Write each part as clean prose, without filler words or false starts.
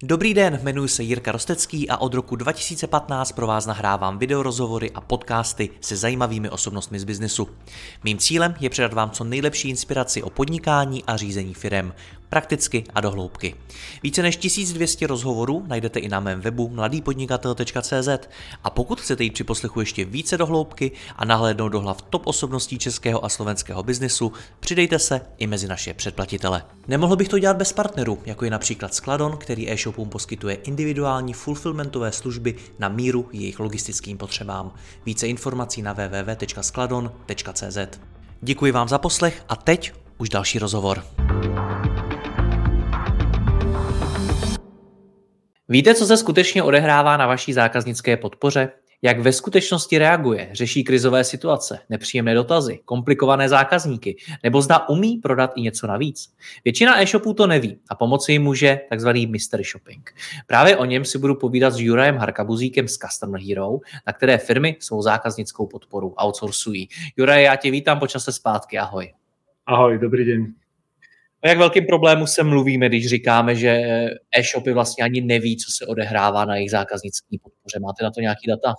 Dobrý den, jmenuji se Jirka Rostecký a od roku 2015 pro vás nahrávám videorozhovory a podcasty se zajímavými osobnostmi z biznesu. Mým cílem je předat vám co nejlepší inspiraci o podnikání a řízení firem, prakticky a do hloubky. Více než 1200 rozhovorů najdete i na mém webu mladýpodnikatel.cz a pokud chcete jít při poslechu ještě více do hloubky a nahlédnout do hlav top osobností českého a slovenského biznesu, přidejte se i mezi naše předplatitele. Nemohl bych to dělat bez partnerů, jako je například Skladon, který e-shopům poskytuje individuální fulfillmentové služby na míru jejich logistickým potřebám. Více informací na www.skladon.cz. Děkuji vám za poslech a teď už další rozhovor. Víte, co se skutečně odehrává na vaší zákaznické podpoře? Jak ve skutečnosti reaguje, řeší krizové situace, nepříjemné dotazy, komplikované zákazníky, nebo zda umí prodat i něco navíc? Většina e-shopů to neví a pomoci jim může takzvaný mystery shopping. Právě o něm si budu povídat s Jurajem Harkabuzíkem z Customer Hero, na které firmy svou zákaznickou podporu outsourcují. Juraj, já tě vítám po čase zpátky, ahoj. Ahoj, dobrý den. O jak velkým problému se mluvíme, když říkáme, že e-shopy vlastně ani neví, co se odehrává na jejich zákaznické podpoře? Máte na to nějaký data?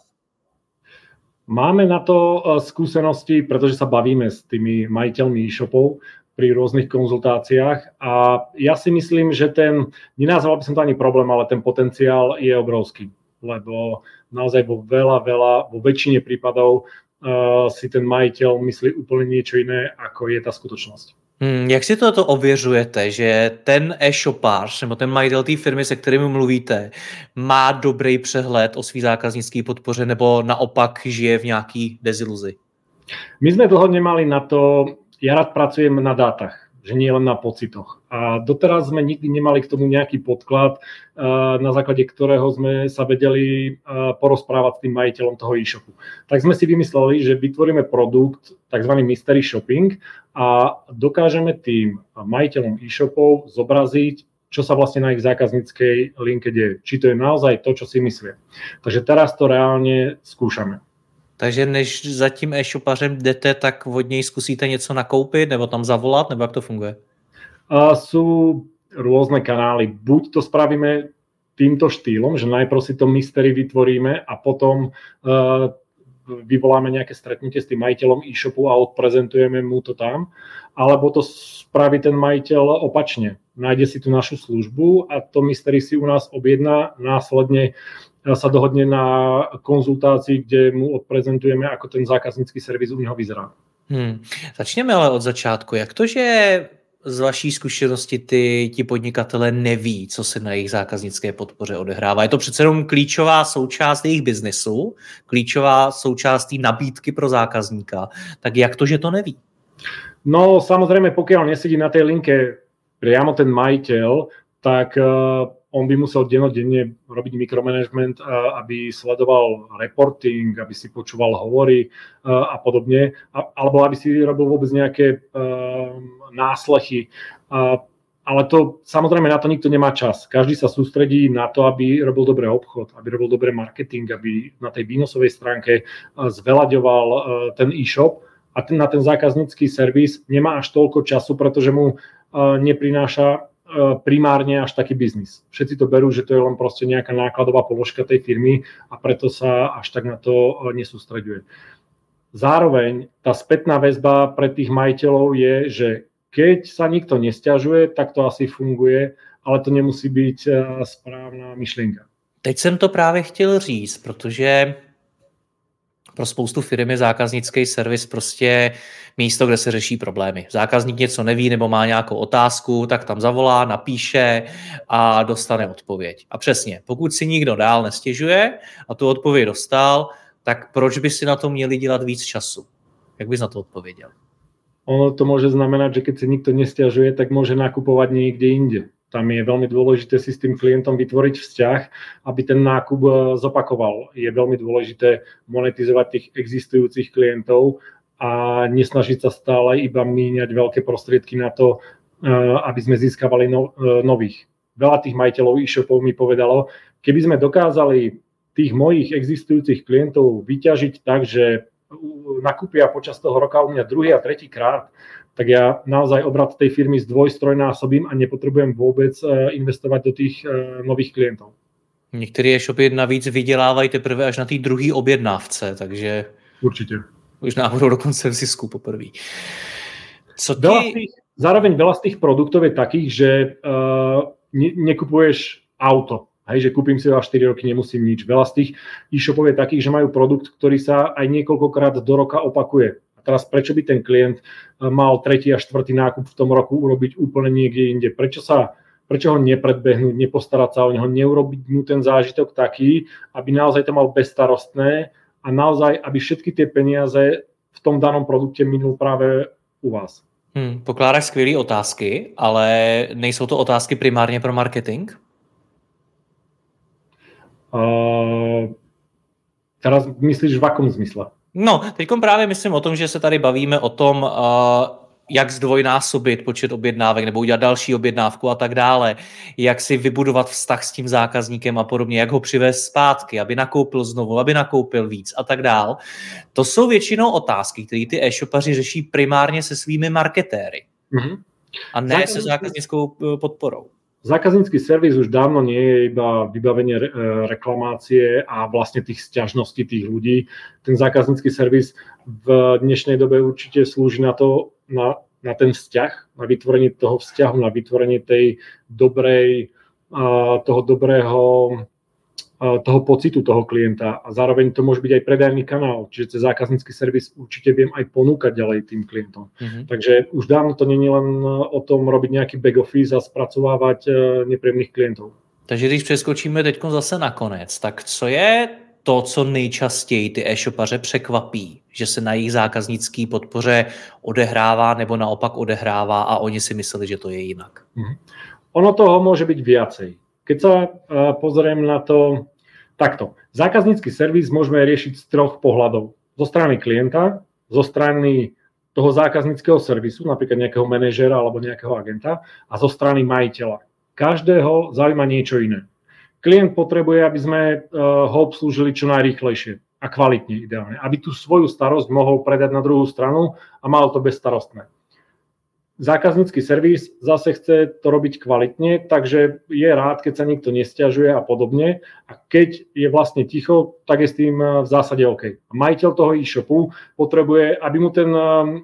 Máme na to skúsenosti, pretože sa bavíme s tými majiteľmi e-shopov pri rôznych konzultáciách a ja si myslím, že nenazval by som to ani problém, ale ten potenciál je obrovský, lebo naozaj vo väčšine prípadov si ten majiteľ myslí úplne niečo iné, ako je tá skutočnosť. Jak si to ověřujete, že ten e-shopář nebo ten majitel té firmy, se kterými mluvíte, má dobrý přehled o svý zákaznické podpoře nebo naopak žije v nějaký deziluzi? My sme dlho nemali na to, ja rád pracujem na dátach, že nie len na pocitoch. A doteraz sme nikdy nemali k tomu nejaký podklad, na základe ktorého sme sa vedeli porozprávať s tým majiteľom toho e-shopu. Tak sme si vymysleli, že vytvoríme produkt, takzvaný mystery shopping, a dokážeme tým majiteľom e-shopov zobraziť, čo sa vlastne na ich zákazníckej linke deje. Či to je naozaj to, čo si myslia. Takže teraz to reálne skúšame. Takže než za tím e-shopařem jdete, tak od něj zkusíte něco nakoupit nebo tam zavolat, nebo jak to funguje? Sú rôzne kanály. Buď to spravíme týmto štýlom, že najprv si to mystery vytvoríme a potom vyvoláme nejaké stretnutie s tým majiteľom e-shopu a odprezentujeme mu to tam, alebo to spraví ten majiteľ opačne. Nájde si tú našu službu a to mystery si u nás objedná, následne sa dohodne na konzultácii, kde mu odprezentujeme, ako ten zákaznícky servis u něho vyzerá. Začněme ale od začátku. Jak to, že z vaší zkušenosti ti podnikatelé neví, co se na jejich zákaznické podpoře odehrává? Je to přece jenom klíčová součást jejich biznesu, klíčová součást té nabídky pro zákazníka. Tak jak to, že to neví? No samozrejme, pokiaľ nesedí na tej linke priamo ten majiteľ, tak on by musel dennodenne robiť mikromanagement, aby sledoval reporting, aby si počúval hovory a podobne, alebo aby si robil vôbec nejaké náslechy. Ale to, samozrejme, na to nikto nemá čas. Každý sa sústredí na to, aby robil dobrý obchod, aby robil dobrý marketing, aby na tej výnosovej stránke zvelaďoval ten e-shop a na ten zákaznícky servis nemá až toľko času, pretože mu neprináša primárne až taký biznis. Všetci to berú, že to je len proste nejaká nákladová položka tej firmy a preto sa až tak na to nesústreďuje. Zároveň tá spätná väzba pre tých majiteľov je, že keď sa nikto nesťažuje, tak to asi funguje, ale to nemusí byť správná myšlienka. Teď jsem to právě chtěl říct, protože pro spoustu firm je zákaznický servis prostě místo, kde se řeší problémy. Zákazník něco neví nebo má nějakou otázku, tak tam zavolá, napíše a dostane odpověď. A přesně, pokud si nikdo dál nestěžuje a tu odpověď dostal, tak proč by si na to měli dělat víc času? Jak bys na to odpověděl? Ono to môže znamenať, že keď si nikto nesťažuje, tak môže nakupovať niekde inde. Tam je veľmi dôležité si s tým klientom vytvoriť vzťah, aby ten nákup zopakoval. Je veľmi dôležité monetizovať tých existujúcich klientov a nesnažiť sa stále iba míňať veľké prostriedky na to, aby sme získavali nových. Veľa tých majiteľov e-shopov mi povedalo, keby sme dokázali tých mojich existujúcich klientov vyťažiť tak, že nakúpia počas toho roka u mňa druhý a tretí krát, tak ja naozaj obrat tej firmy zdvojstrojnásobím a nepotrebujem vôbec investovať do tých nových klientov. Některé e-shopy navíc vydělávají teprve až na té druhé objednávce, takže Určite. možná budou dokonce v zisku poprvé. Zároveň veľa z tých produktov je takých, že nekupuješ auto. Hej, že kúpim si ho a 4 roky nemusím nič. Veľa z tých e-shopov je takých, že majú produkt, ktorý sa aj niekoľkokrát do roka opakuje. A teraz prečo by ten klient mal 3. a 4. nákup v tom roku urobiť úplne niekde inde? Prečo ho nepredbehnúť, nepostarať sa o neho, neurobiť mu ten zážitok taký, aby naozaj to mal bezstarostné a naozaj, aby všetky tie peniaze v tom danom produkte minul práve u vás. Pokládáš skvělé otázky, ale nejsou to otázky primárně pro marketing? Teraz myslíš v akom zmysle? No, teďkom právě myslím o tom, že se tady bavíme o tom, jak zdvojnásobit počet objednávek nebo udělat další objednávku a tak dále, jak si vybudovat vztah s tím zákazníkem a podobně, jak ho přivést zpátky, aby nakoupil znovu, aby nakoupil víc a tak dále. To jsou většinou otázky, které ty e-shopaři řeší primárně se svými marketéry a ne se zákaznickou podporou. Zákaznícky servis už dávno nie je iba vybavenie reklamácie a vlastne tých sťažností tých ľudí. Ten zákaznícky servis v dnešnej dobe určite slúži na to, na ten vzťah, na vytvorenie toho vzťahu, na vytvorenie tej toho pocitu toho klienta a zároveň to môže byť aj predajný kanál, čiže cez zákaznícky servis určite viem aj ponúkať ďalej tým klientom. Takže už dávno to nie je len o tom robiť nejaký back office a spracovávať nepríjemných klientov. Takže když přeskočíme teď zase na konec, tak co je to, co nejčastěji ty e-shopaře překvapí, že se na jejich zákaznické podpoře odehrává nebo naopak odehrává a oni si mysleli, že to je jinak? Ono toho môže byť viacej. Keď sa pozriem na to takto, zákaznícky servis môžeme riešiť z 3 pohľadov. Zo strany klienta, zo strany toho zákazníckeho servisu, napríklad nejakého manažera alebo nejakého agenta a zo strany majiteľa. Každého zaujíma niečo iné. Klient potrebuje, aby sme ho obslúžili čo najrýchlejšie a kvalitne ideálne, aby tú svoju starosť mohol predať na druhú stranu a mal to bezstarostné. Zákaznícky servis zase chce to robiť kvalitne, takže je rád, keď sa nikto nesťažuje a podobne. A keď je vlastne ticho, tak je s tým v zásade OK. A majiteľ toho e-shopu potrebuje, aby mu ten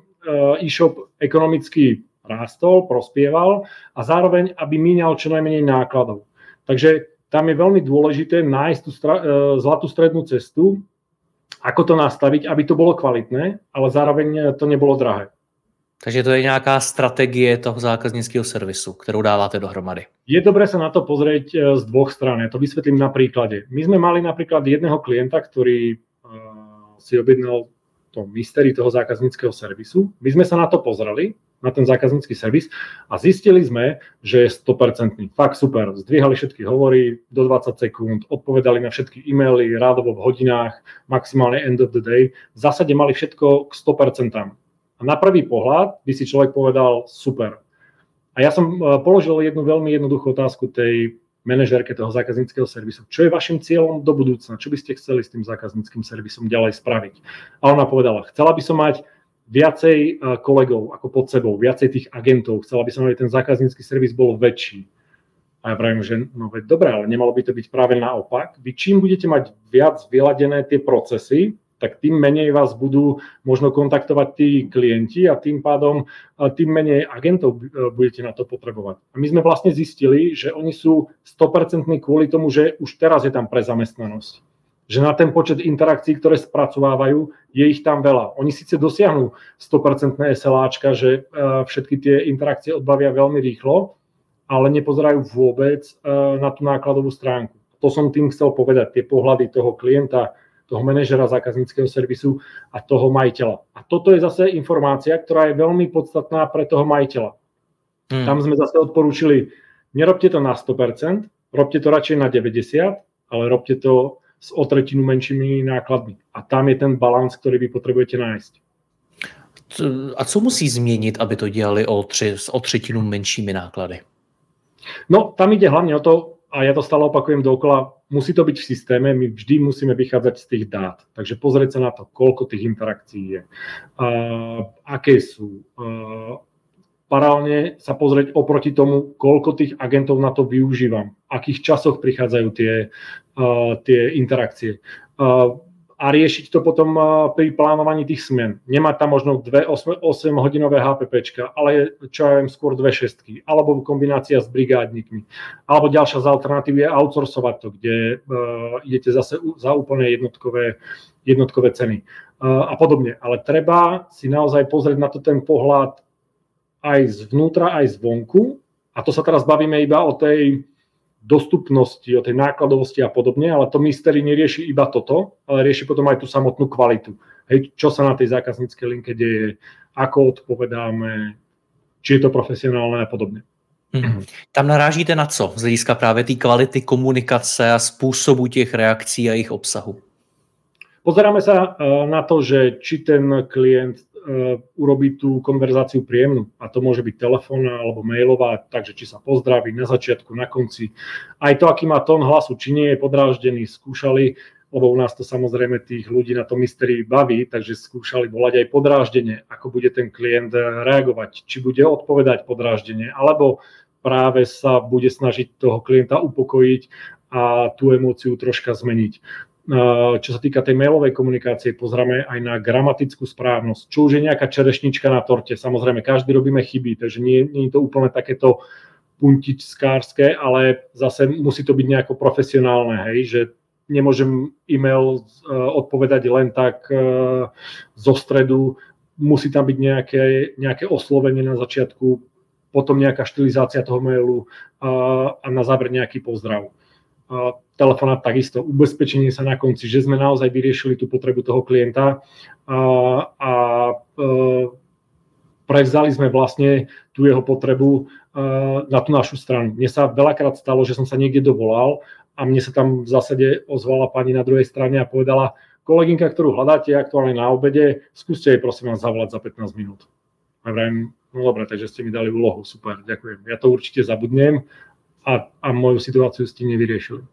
e-shop ekonomicky rástol, prospieval a zároveň, aby míňal čo najmenej nákladov. Takže tam je veľmi dôležité nájsť tú zlatú strednú cestu, ako to nastaviť, aby to bolo kvalitné, ale zároveň to nebolo drahé. Takže to je nějaká strategie toho zákaznického servisu, kterou dáváte dohromady. Je dobré sa na to pozrieť z 2 strán. Ja to vysvetlím na príklade. My sme mali napríklad jedného klienta, ktorý si objednal to mystery toho zákazníckeho servisu. My sme sa na to pozreli, na ten zákaznícky servis a zistili sme, že je 100%. Fakt super. Zdvíhali všetky hovory do 20 sekúnd, odpovedali na všetky e-maily rádovo v hodinách, maximálne end of the day. V zásade mali všetko k 100%. A na prvý pohľad by si človek povedal super. A ja som položil jednu veľmi jednoduchú otázku tej manažérke toho zákazníckeho servisu. Čo je vašim cieľom do budúcna? Čo by ste chceli s tým zákazníckym servisom ďalej spraviť? A ona povedala, chcela by som mať viacej kolegov ako pod sebou, viacej tých agentov. Chcela by som, aby ten zákaznícky servis bol väčší. A ja pravím, že no veď dobré, ale nemalo by to byť práve naopak. Vy čím budete mať viac vyladené tie procesy, tak tým menej vás budú možno kontaktovať tí klienti a tým pádom tým menej agentov budete na to potrebovať. A my sme vlastne zistili, že oni sú 100% kvôli tomu, že už teraz je tam prezamestnanosť. Že na ten počet interakcií, ktoré spracovávajú, je ich tam veľa. Oni síce dosiahnu 100% SLAčka, že všetky tie interakcie odbavia veľmi rýchlo, ale nepozerajú vôbec na tú nákladovú stránku. To som tým chcel povedať, tie pohľady toho klienta, toho manažera zákazníckeho servisu a toho majiteľa. A toto je zase informácia, ktorá je veľmi podstatná pre toho majiteľa. Tam sme zase odporúčili, nerobte to na 100%, robte to radšej na 90%, ale robte to s o tretinu menšími nákladmi. A tam je ten balans, ktorý vy potrebujete nájsť. A co musí změnit, aby to dělali o třetinu menšími náklady? No, tam ide hlavne o to, a ja to stále opakujem dookola, musí to byť v systéme, my vždy musíme vychádzať z tých dát. Takže pozrieť sa na to, koľko tých interakcií je, aké sú. Paralelne sa pozrieť oproti tomu, koľko tých agentov na to využívam, v akých časoch prichádzajú tie interakcie. A riešiť to potom pri plánovaní tých smien. Nemať tam možno 2 8-hodinové HPPčka, ale čo ja viem, skôr 2 šestky, alebo kombinácia s brigádnikmi. Alebo ďalšia z alternatív je outsourcovať to, kde idete zase za úplne jednotkové ceny a podobne. Ale treba si naozaj pozrieť na to ten pohľad aj zvnútra, aj zvonku. A to sa teraz bavíme iba o tej dostupnosti, o tej nákladovosti a podobne, ale to mystery nerieši iba toto, ale rieši potom aj tú samotnú kvalitu. Hej, čo sa na tej zákazníckej linke deje, ako odpovedáme, či je to profesionálne a podobne. Tam narážíte na co z hlediska právě té kvality komunikace a způsobu těch reakcí a jejich obsahu? Pozeráme sa na to, že či ten klient urobí tú konverzáciu príjemnú. A to môže byť telefónna alebo mailová, takže či sa pozdraví na začiatku, na konci. Aj to, aký má tón hlasu, či nie je podráždený, skúšali, lebo u nás to samozrejme tých ľudí na to mystery baví, takže skúšali volať aj podráždenie, ako bude ten klient reagovať, či bude odpovedať podráždenie, alebo práve sa bude snažiť toho klienta upokojiť a tú emóciu troška zmeniť. Čo sa týka tej mailovej komunikácie, pozrieme aj na gramatickú správnosť. Čo už je nejaká čerešnička na torte. Samozrejme, každý robíme chyby, takže nie je to úplne takéto puntičskárske, ale zase musí to byť nejako profesionálne, hej, že nemôžem e-mail odpovedať len tak zo stredu, musí tam byť nejaké oslovenie na začiatku, potom nejaká štilizácia toho mailu a na záver nejaký pozdrav. Telefonát takisto, ubezpečenie sa na konci, že sme naozaj vyriešili tú potrebu toho klienta a prevzali sme vlastne tú jeho potrebu na tú našu stranu. Mne sa veľakrát stalo, že som sa niekde dovolal a mne sa tam v zásade ozvala pani na druhej strane a povedala: kolegynka, ktorú hľadáte aktuálne na obede, skúste jej prosím vás zavolať za 15 minút. A vrajím, no dobre, takže ste mi dali úlohu, super, ďakujem. Ja to určite zabudnem a moju situáciu s tím nevyriešili.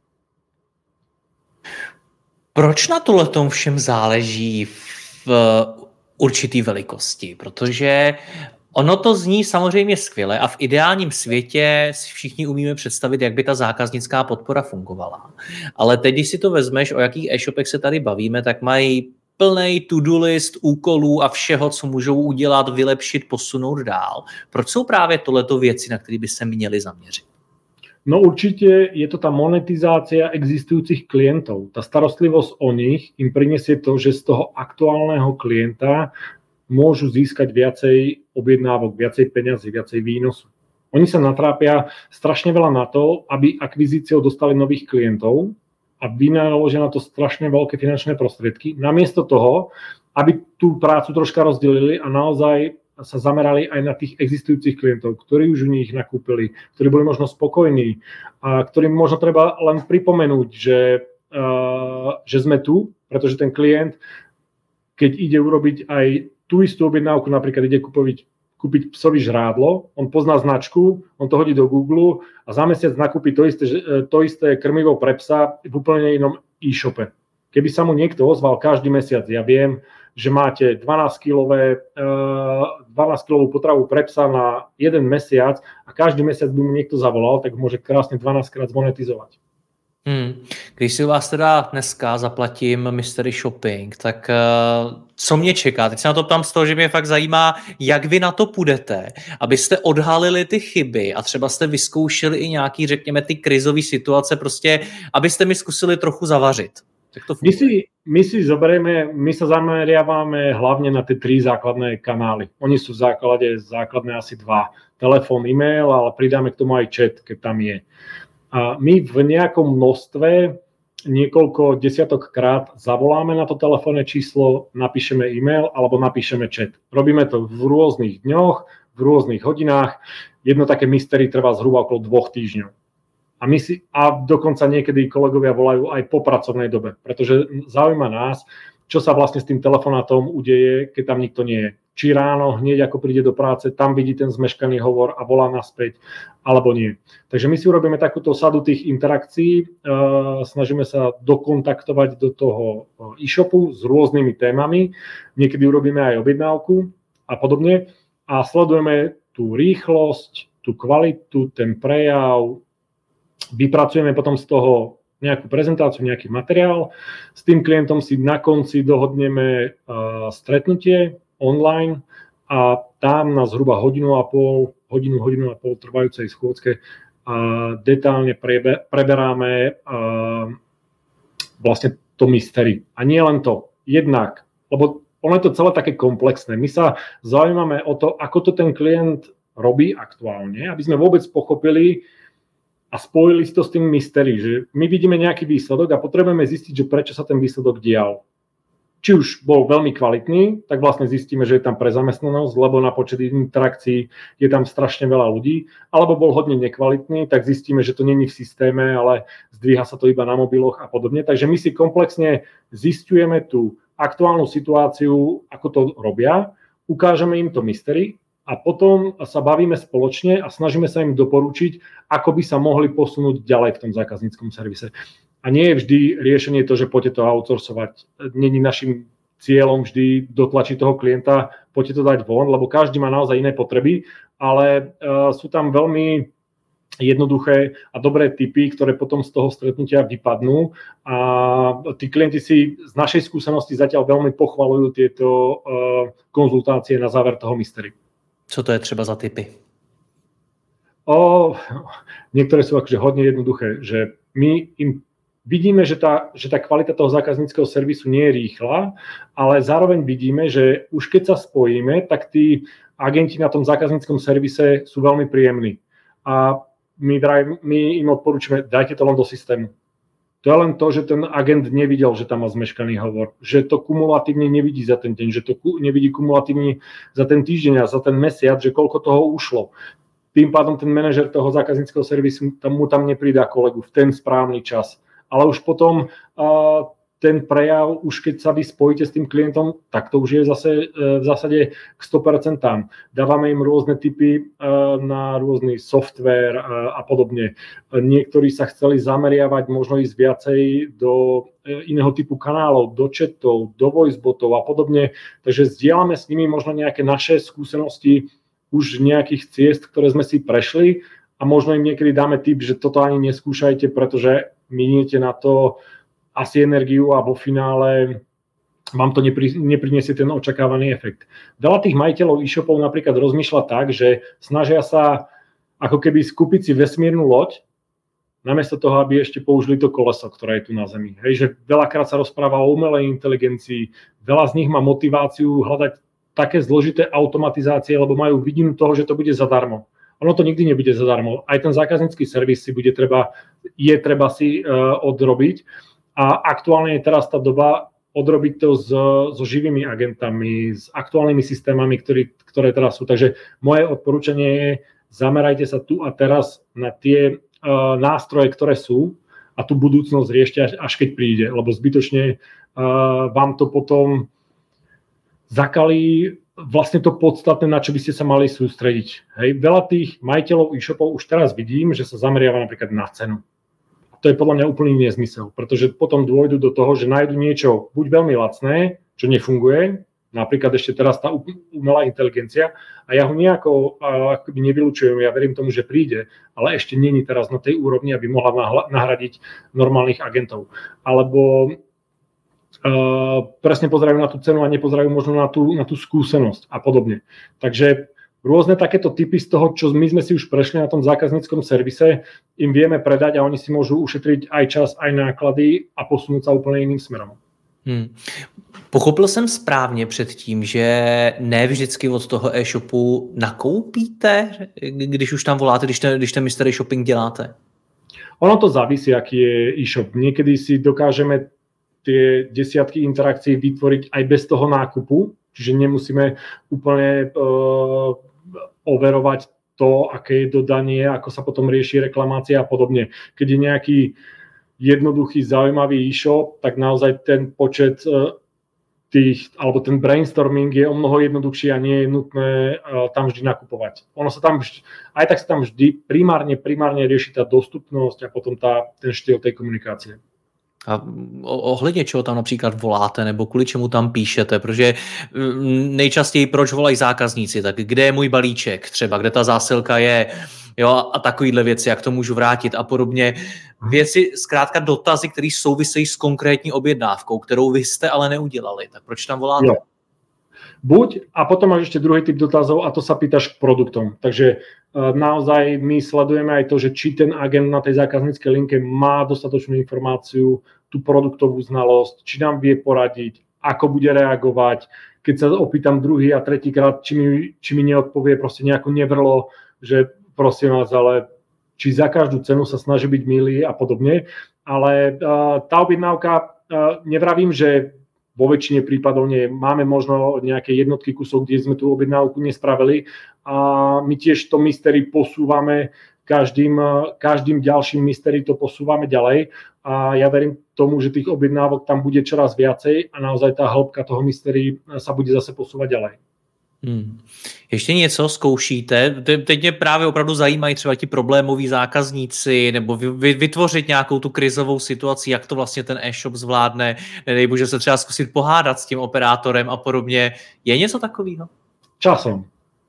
Proč na tohletom všem záleží v určitý velikosti? Protože ono to zní samozřejmě skvěle a v ideálním světě si všichni umíme představit, jak by ta zákaznická podpora fungovala. Ale teď, když si to vezmeš, o jakých e-shopech se tady bavíme, tak mají plnej to-do list úkolů a všeho, co můžou udělat, vylepšit, posunout dál. Proč jsou právě tohleto věci, na které by se měli zaměřit? No určite je to tá monetizácia existujúcich klientov. Tá starostlivosť o nich im prinesie to, že z toho aktuálneho klienta môžu získať viacej objednávok, viacej peňazí, viacej výnosu. Oni sa natrápia strašne veľa na to, aby akvizíciou dostali nových klientov a vynaložia na to strašne veľké finančné prostriedky. Namiesto toho, aby tú prácu troška rozdelili a naozaj sa zamerali aj na tých existujúcich klientov, ktorí už u nich nakúpili, ktorí boli možno spokojní a ktorým možno treba len pripomenúť, že sme tu, pretože ten klient, keď ide urobiť aj tú istú objednávku, napríklad ide kúpiť psovi žrádlo, on pozná značku, on to hodí do Google a za mesiac nakúpi to isté krmivo pre psa v úplne inom e-shope. Keby sa mu niekto ozval každý mesiac, ja viem, že máte 12-kilovú potravu pre psa na jeden mesiac a každý mesiac by mu niekto zavolal, tak môže krásne 12-krát zmonetizovať. Když si u vás teda dneska zaplatím Mystery Shopping, tak co mě čeká? Teď se na to ptám z toho, že mě fakt zajímá, jak vy na to půjdete, abyste odhalili ty chyby a třeba jste vyzkoušeli i nějaký, řekněme, ty krizové situace, prostě abyste mi zkusili trochu zavařit. My sa zameriavame hlavne na tie 3 základné kanály. Oni sú v základe základné asi 2. Telefón, e-mail, ale pridáme k tomu aj chat, keď tam je. A my v nejakom množstve niekoľko desiatok krát zavoláme na to telefónne číslo, napíšeme e-mail alebo napíšeme chat. Robíme to v rôznych dňoch, v rôznych hodinách. Jedno také mystery trvá zhruba okolo 2 týždňov. A dokonca niekedy kolegovia volajú aj po pracovnej dobe, pretože zaujíma nás, čo sa vlastne s tým telefonátom udeje, keď tam nikto nie je. či ráno hneď ako príde do práce, tam vidí ten zmeškaný hovor a volá naspäť, alebo nie. Takže my si urobíme takúto sadu tých interakcií, snažíme sa dokontaktovať do toho e-shopu s rôznymi témami, niekedy urobíme aj objednávku a podobne a sledujeme tú rýchlosť, tú kvalitu, ten prejav, vypracujeme potom z toho nejakú prezentáciu, nejaký materiál. S tým klientom si na konci dohodneme stretnutie online a tam na zhruba hodinu a pol trvajúcej schôdzke detálne preberáme vlastne to mystery. A nie len to, jednak, lebo ono je to celé také komplexné. My sa zaujímame o to, ako to ten klient robí aktuálne, aby sme vôbec pochopili a spojili si to s tým mystery, že my vidíme nejaký výsledok a potrebujeme zistiť, že prečo sa ten výsledok dial. Či už bol veľmi kvalitný, tak vlastne zistíme, že je tam prezamestnanosť, lebo na počet interakcií je tam strašne veľa ľudí, alebo bol hodne nekvalitný, tak zistíme, že to není v systéme, ale zdvíha sa to iba na mobiloch a podobne. Takže my si komplexne zisťujeme tú aktuálnu situáciu, ako to robia, ukážeme im to mystery a potom sa bavíme spoločne a snažíme sa im doporučiť, ako by sa mohli posunúť ďalej v tom zákazníckom servise. A nie je vždy riešenie to, že poďte to outsourcovať. Není našim cieľom vždy dotlačiť toho klienta, poďte to dať von, lebo každý má naozaj iné potreby, ale sú tam veľmi jednoduché a dobré tipy, ktoré potom z toho stretnutia vypadnú a tí klienti si z našej skúsenosti zatiaľ veľmi pochvalujú tieto konzultácie na záver toho mystery. Co to je třeba za tipy? Niektoré sú akože hodne jednoduché, že my im vidíme, že tá kvalita toho zákazníckeho servisu nie je rýchla, ale zároveň vidíme, že už keď sa spojíme, tak tí agenti na tom zákazníckom servise sú veľmi príjemní. A my im odporúčame, dajte to len do systému. To je len to, že ten agent nevidel, že tam má zmeškaný hovor, že to kumulatívne nevidí za ten deň, že to nevidí kumulatívne za ten týždeň a za ten mesiac, že koľko toho ušlo. Tým pádom ten manažer toho zákazníckeho servisu mu tam nepridá kolegu v ten správny čas. Ale už potom ten prejav, už keď sa vy spojíte s tým klientom, tak to už je zase v zásade k 100% tam. Dávame im rôzne tipy na rôzny software a podobne. Niektorí sa chceli zameriavať možno ísť viacej do iného typu kanálov, do chatov, do voicebotov a podobne. Takže zdieľame s nimi možno nejaké naše skúsenosti už nejakých ciest, ktoré sme si prešli a možno im niekedy dáme tip, že toto ani neskúšajte, pretože miniete na to asi energiu a vo finále vám to nepriniesie ten očakávaný efekt. Veľa tých majiteľov e-shopov napríklad rozmýšľa tak, že snažia sa ako keby skúpiť si vesmírnu loď, namiesto toho, aby ešte použili to koleso, ktoré je tu na Zemi. Hej, že veľakrát sa rozpráva o umelej inteligencii, veľa z nich má motiváciu hľadať také zložité automatizácie, lebo majú vidinu toho, že to bude zadarmo. Ono to nikdy nebude zadarmo. Aj ten zákaznícky servis si je treba si odrobiť. A aktuálne je teraz tá doba odrobiť to so živými agentami, s aktuálnymi systémami, ktoré teraz sú. Takže moje odporúčanie je, zamerajte sa tu a teraz na tie nástroje, ktoré sú a tú budúcnosť riešte až keď príde, lebo zbytočne vám to potom zakalí vlastne to podstatné, na čo by ste sa mali sústrediť. Hej. Veľa tých majiteľov e-shopov už teraz vidím, že sa zameriava napríklad na cenu. To je podľa mňa úplný nezmysel, pretože potom dôjdu do toho, že nájdu niečo buď veľmi lacné, čo nefunguje, napríklad ešte teraz tá umelá inteligencia, a ja ho nejako akoby nevylučujem, ja verím tomu, že príde, ale ešte nie je teraz na tej úrovni, aby mohla nahradiť normálnych agentov. Alebo presne pozerajú na tú cenu a nepozerajú možno na tú skúsenosť a podobne. Takže rôzne takéto typy z toho, čo my sme si už prešli na tom zákazníckom servise, im vieme predať a oni si môžu ušetriť aj čas, aj náklady a posunúť sa úplne iným smerom. Pochopil jsem správně předtím, že ne vždycky od toho e-shopu nakoupíte, když už tam voláte, když ten mystery shopping děláte? Ono to závisí, aký je e-shop. Niekedy si dokážeme tie desiatky interakcií vytvoriť aj bez toho nákupu, čiže nemusíme úplne overovať to, aké je dodanie, ako sa potom rieši reklamácia a podobne. Keď je nejaký jednoduchý, zaujímavý e-shop, tak naozaj ten počet alebo ten brainstorming je o mnoho jednoduchší a nie je nutné tam vždy nakupovať. Aj tak sa tam vždy primárne rieši tá dostupnosť a potom ten štýl tej komunikácie. A ohledně čeho tam například voláte nebo kvůli čemu tam píšete, protože nejčastěji proč volají zákazníci, tak kde je můj balíček třeba, kde ta zásilka je, jo, a takovýhle věci, jak to můžu vrátit a podobně. Věci, zkrátka dotazy, které souvisejí s konkrétní objednávkou, kterou vy jste ale neudělali, tak proč tam voláte? Jo. Buď, a potom máš ešte druhý typ dotazov a to sa pýtaš k produktom. Takže naozaj my sledujeme aj to, že či ten agent na tej zákazníckej linke má dostatočnú informáciu, tú produktovú znalosť, či nám vie poradiť, ako bude reagovať. Keď sa opýtam druhý a tretíkrát, či mi neodpovie proste nejakú nevrlo, že prosím vás, ale či za každú cenu sa snaží byť milý a podobne. Ale tá objednávka, nevravím, že vo väčšine prípadov nie. Máme možno nejaké jednotky kusov, kde sme tú objednávku nespravili a my tiež to mystery posúvame, každým ďalším mystery to posúvame ďalej a ja verím tomu, že tých objednávok tam bude čoraz viacej a naozaj tá hĺbka toho mystery sa bude zase posúvať ďalej. Ještě něco zkoušíte? Teď mě právě opravdu zajímají třeba ti problémoví zákazníci nebo vytvořit nějakou tu krizovou situaci, jak to vlastně ten e-shop zvládne, nedej bože se třeba zkusit pohádat s tím operátorem a podobně. Je něco takového? Časom.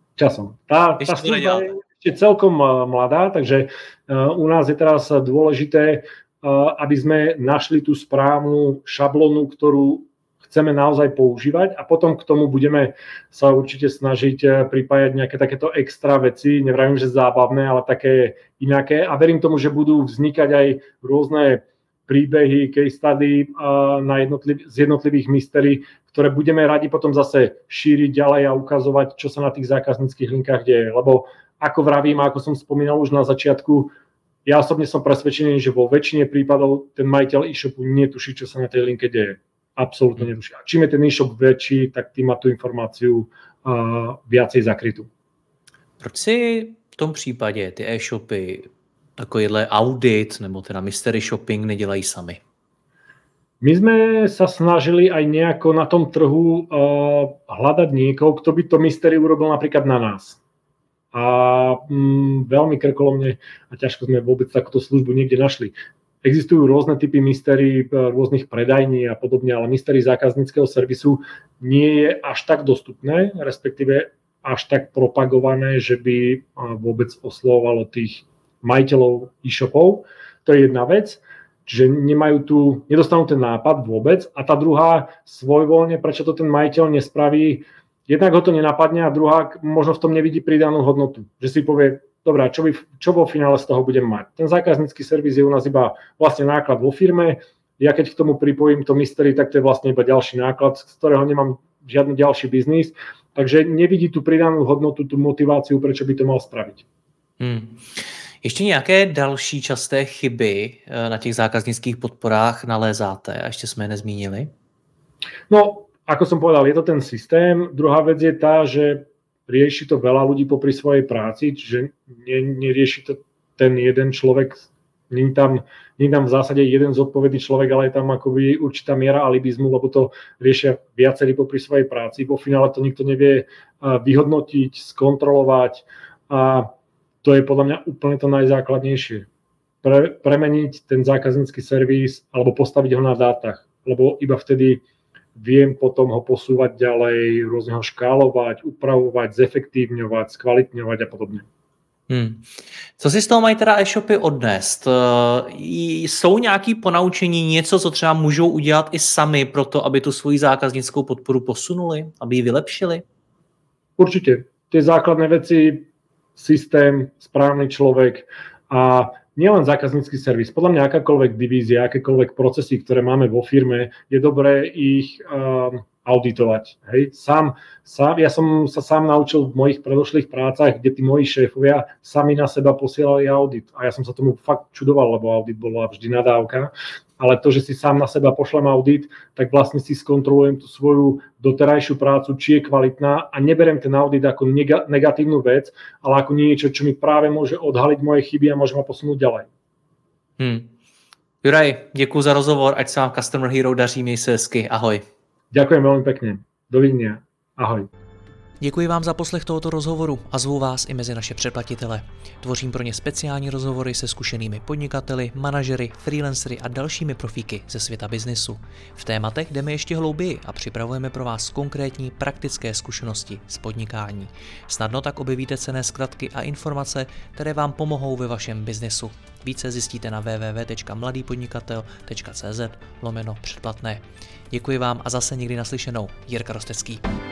Tá služba je ešte celkom mladá, takže u nás je teraz dôležité, aby sme našli tú správnu šablónu, ktorú chceme naozaj používať a potom k tomu budeme sa určite snažiť pripájať nejaké takéto extra veci, nevravím, že zábavné, ale také inaké a verím tomu, že budú vznikať aj rôzne príbehy, case study z jednotlivých mystery, ktoré budeme radi potom zase šíriť ďalej a ukazovať, čo sa na tých zákazníckých linkách deje, lebo ako vravím, ako som spomínal už na začiatku, ja osobne som presvedčený, že vo väčšine prípadov ten majiteľ e-shopu netuší, čo sa na tej linke deje. Absolútne netuší. A čím je ten e-shop väčší, tak tým má tu informáciu viacej zakrytú. Proč si v tom případě ty e-shopy takovýhle audit nebo teda mystery shopping nedělají sami? My sme sa snažili aj nejako na tom trhu hľadať niekoho, kto by to mystery urobil napríklad na nás. A veľmi krkolomne a ťažko sme vôbec takúto službu niekde našli. Existujú rôzne typy mystery, rôznych predajní a podobne, ale mystery zákazníckeho servisu nie je až tak dostupné, respektíve až tak propagované, že by vôbec oslovovalo tých majiteľov e-shopov. To je jedna vec, čiže nedostanú ten nápad vôbec. A tá druhá, svojvoľne, prečo to ten majiteľ nespraví, jednak ho to nenapadne a druhá, možno v tom nevidí pridanú hodnotu. Že si povie, dobrá, čo vo finále z toho budem mať? Ten zákaznícky servis je u nás iba vlastne náklad vo firme. Ja keď k tomu pripojím to mystery, tak to je vlastne iba ďalší náklad, z ktorého nemám žiadny ďalší biznis. Takže nevidí tú pridanú hodnotu, tú motiváciu, prečo by to mal spraviť. Ještě nějaké další časté chyby na těch zákaznických podporách nalézáte? A ještě jsme je nezmínili. No, ako som povedal, je to ten systém. Druhá vec je tá, že rieši to veľa ľudí popri svojej práci, čiže nerieši to ten jeden človek, nie tam v zásade jeden zodpovedný človek, ale je tam akoby určitá miera alibizmu, lebo to riešia viacerí popri svojej práci. Vo finále to nikto nevie vyhodnotiť, skontrolovať a to je podľa mňa úplne to najzákladnejšie. Premeniť ten zákaznícky servis alebo postaviť ho na dátach, lebo iba vtedy viem potom ho posúvať ďalej, rôzne ho škálovať, upravovať, zefektívňovať, skvalitňovať a podobne. Co si z toho mají teda e-shopy odnést? Jsou nějaké ponaučení, něco, co třeba můžou udělat i sami pro to, aby tu svoji zákaznickou podporu posunuli, aby ji vylepšili? Určite. Tie základné veci, systém, správny človek a nielen zákaznícky servis. Podľa mňa akákoľvek divízia, akékoľvek procesy, ktoré máme vo firme, je dobré ich auditovať. Hej? Ja som sa sám naučil v mojich predošlých prácach, kde tí moji šéfovia sami na seba posielali audit. A ja som sa tomu fakt čudoval, lebo audit bola vždy nadávka. Ale to, že si sám na seba pošlem audit, tak vlastne si skontrolujem tú svoju doterajšiu prácu, či je kvalitná a neberiem ten audit ako negatívnu vec, ale ako niečo, čo mi práve môže odhaliť moje chyby a môže ma posunúť ďalej. Juraj, děkuji za rozhovor, ať se vám Customer Hero daří, měj se hezky, ahoj. Ďakujem veľmi pekne. Dovidenia. Ahoj. Děkuji vám za poslech tohoto rozhovoru a zvu vás i mezi naše předplatitele. Tvořím pro ně speciální rozhovory se zkušenými podnikateli, manažery, freelancery a dalšími profíky ze světa biznisu. V tématech jdeme ještě hlouběji a připravujeme pro vás konkrétní praktické zkušenosti z podnikání. Snadno tak objevíte cenné zkratky a informace, které vám pomohou ve vašem biznesu. Více zjistíte na www.mladýpodnikatel.cz/předplatné. Děkuji vám a zase někdy naslyšenou. Jirka Rostecký.